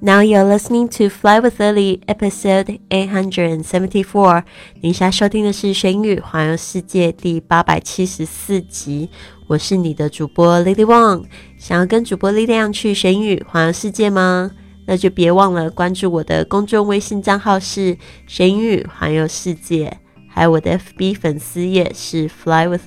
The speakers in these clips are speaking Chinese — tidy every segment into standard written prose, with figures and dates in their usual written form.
Now you're listening to Fly with Lily, episode 874. 你现在收听的是学英语环游世界第874集。我是你的主播 Lily Wang。想要跟主播力量去学英语环游世界吗？那就别忘了关注我的公众微信账号是学英语环游世界，还有我的 FB 粉丝页是 Fly with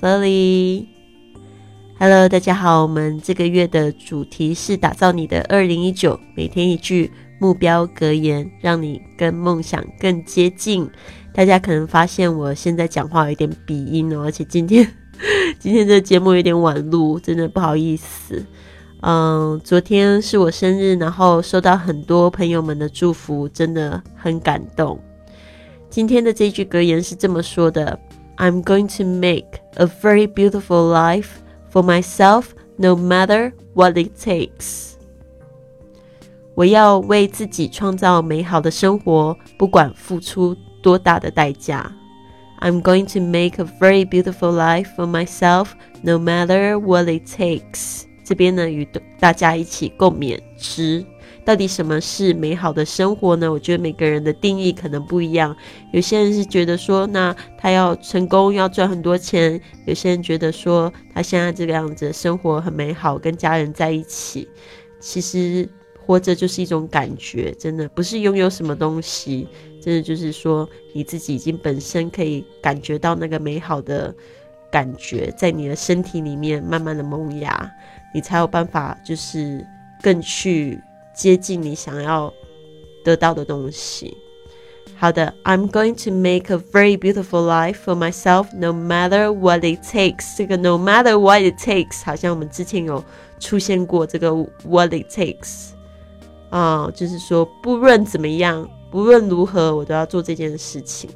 Lily。Hello， 大家好，我们这个月的主题是打造你的2019，每天一句目标格言，让你跟梦想更接近。大家可能发现我现在讲话有点鼻音哦，而且今天这个节目有点晚录，真的不好意思。昨天是我生日，然后收到很多朋友们的祝福，真的很感动。今天的这句格言是这么说的 ：I'm going to make a very beautiful life.For myself, no matter what it takes. 我要为自己创造美好的生活，不管付出多大的代价。I'm going to make a very beautiful life for myself, no matter what it takes. 这边呢，与大家一起共勉之。到底什么是美好的生活呢？我觉得每个人的定义可能不一样。有些人是觉得说，那他要成功，要赚很多钱；有些人觉得说，他现在这个样子的生活很美好，跟家人在一起。其实活着就是一种感觉，真的不是拥有什么东西，真的就是说你自己已经本身可以感觉到那个美好的感觉，在你的身体里面慢慢的萌芽，你才有办法就是更去接近你想要得到的东西。好的 I'm going to make a very beautiful life for myself no matter what it takes. 这个 no matter what it takes 好像我们之前有出现过这个 what it takes 就是说不论怎么样，不论如何我都要做这件事情。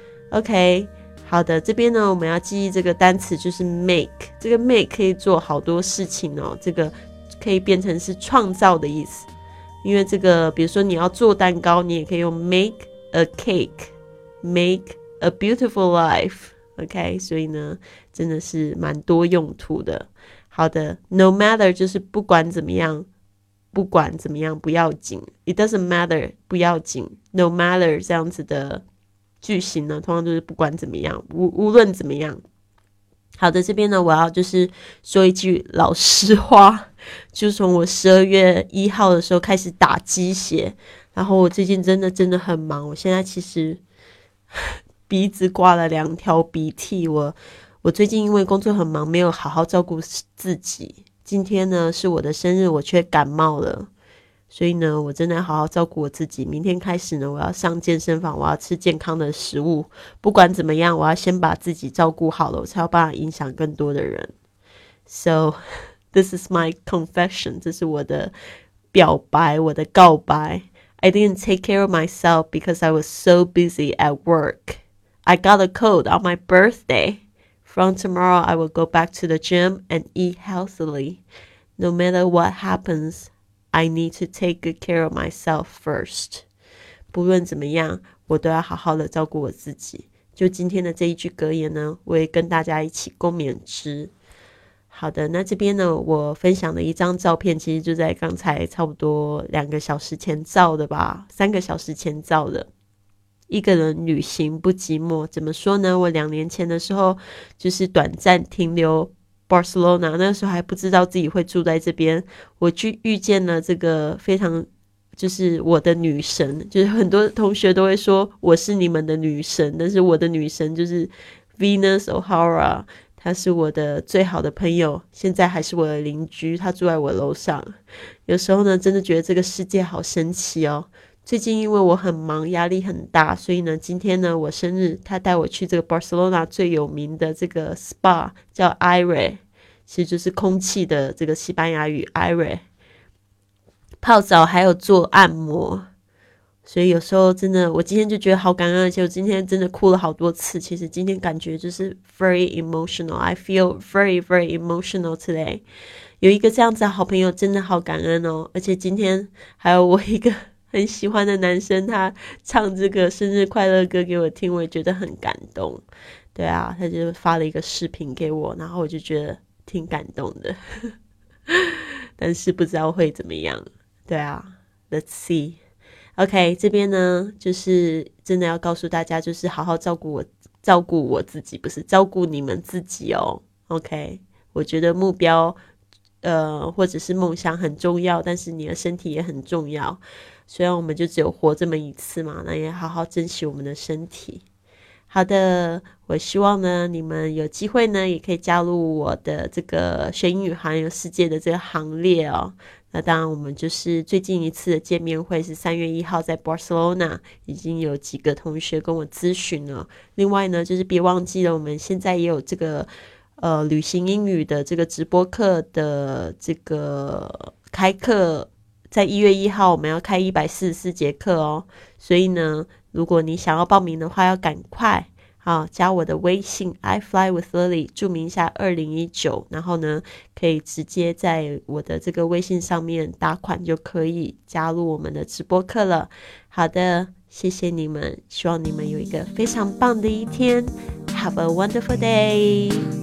OK， 好的，这边呢我们要记忆这个单词就是 make。 这个 make 可以做好多事情哦，这个可以变成是创造的意思。因为这个比如说你要做蛋糕，你也可以用 make a cake, make a beautiful life. OK， 所以呢真的是蛮多用途的。好的 no matter 就是不管怎么样，不管怎么样不要紧， it doesn't matter 不要紧， no matter 这样子的句型呢通常就是不管怎么样，无论怎么样。好的，这边呢我要就是说一句老实话，就从我12月1号的时候开始打鸡血，然后我最近真的很忙，我现在其实鼻子挂了2条鼻涕，我最近因为工作很忙，没有好好照顾自己。今天呢是我的生日，我却感冒了，所以呢我真的要好好照顾我自己。明天开始呢我要上健身房，我要吃健康的食物，不管怎么样我要先把自己照顾好了，我才有办法影响更多的人。 So this is my confession， 这是我的表白，我的告白。 I didn't take care of myself because I was so busy at work. I got a cold on my birthday. From tomorrow I will go back to the gym and eat healthily. No matter what happens,I need to take good care of myself first. 不论怎么样，我都要好好的照顾我自己。就今天的这一句格言呢，我也跟大家一起共勉之。好的，那这边呢，我分享的一张照片，其实就在刚才差不多2个小时前照的吧，3个小时前照的。一个人旅行不寂寞，怎么说呢？我2年前的时候，就是短暂停留Barcelona， 那时候还不知道自己会住在这边，我去遇见了这个非常就是我的女神，就是很多同学都会说我是你们的女神，但是我的女神就是 Venus O'Hara， 她是我的最好的朋友，现在还是我的邻居，她住在我楼上。有时候呢真的觉得这个世界好神奇哦。最近因为我很忙，压力很大，所以呢今天呢我生日，他带我去这个 Barcelona 最有名的这个 spa 叫 Aire， 其实就是空气的这个西班牙语 Aire， 泡澡还有做按摩。所以有时候真的我今天就觉得好感恩，而且我今天真的哭了好多次。其实今天感觉就是 very emotional， I feel very very emotional today。 有一个这样子的好朋友真的好感恩哦。而且今天还有我一个很喜欢的男生，他唱这个生日快乐歌给我听，我也觉得很感动。对啊，他就发了一个视频给我，然后我就觉得挺感动的但是不知道会怎么样。对啊， Let's see. OK， 这边呢，就是真的要告诉大家，就是好好照顾我自己，不是照顾你们自己哦。OK， 我觉得目标，或者是梦想很重要，但是你的身体也很重要。虽然我们就只有活这么一次嘛，那也好好珍惜我们的身体。好的，我希望呢，你们有机会呢，也可以加入我的这个学英语环游世界的这个行列哦。那当然，我们就是最近一次的见面会是3月1号在 Barcelona， 已经有几个同学跟我咨询了。另外呢，就是别忘记了，我们现在也有这个旅行英语的这个直播课的这个开课，在1月1号我们要开144节课哦。所以呢，如果你想要报名的话，要赶快。好，加我的微信 I fly with Lily， 注明一下2019，然后呢，可以直接在我的这个微信上面打款就可以加入我们的直播课了。好的，谢谢你们，希望你们有一个非常棒的一天。Have a wonderful day。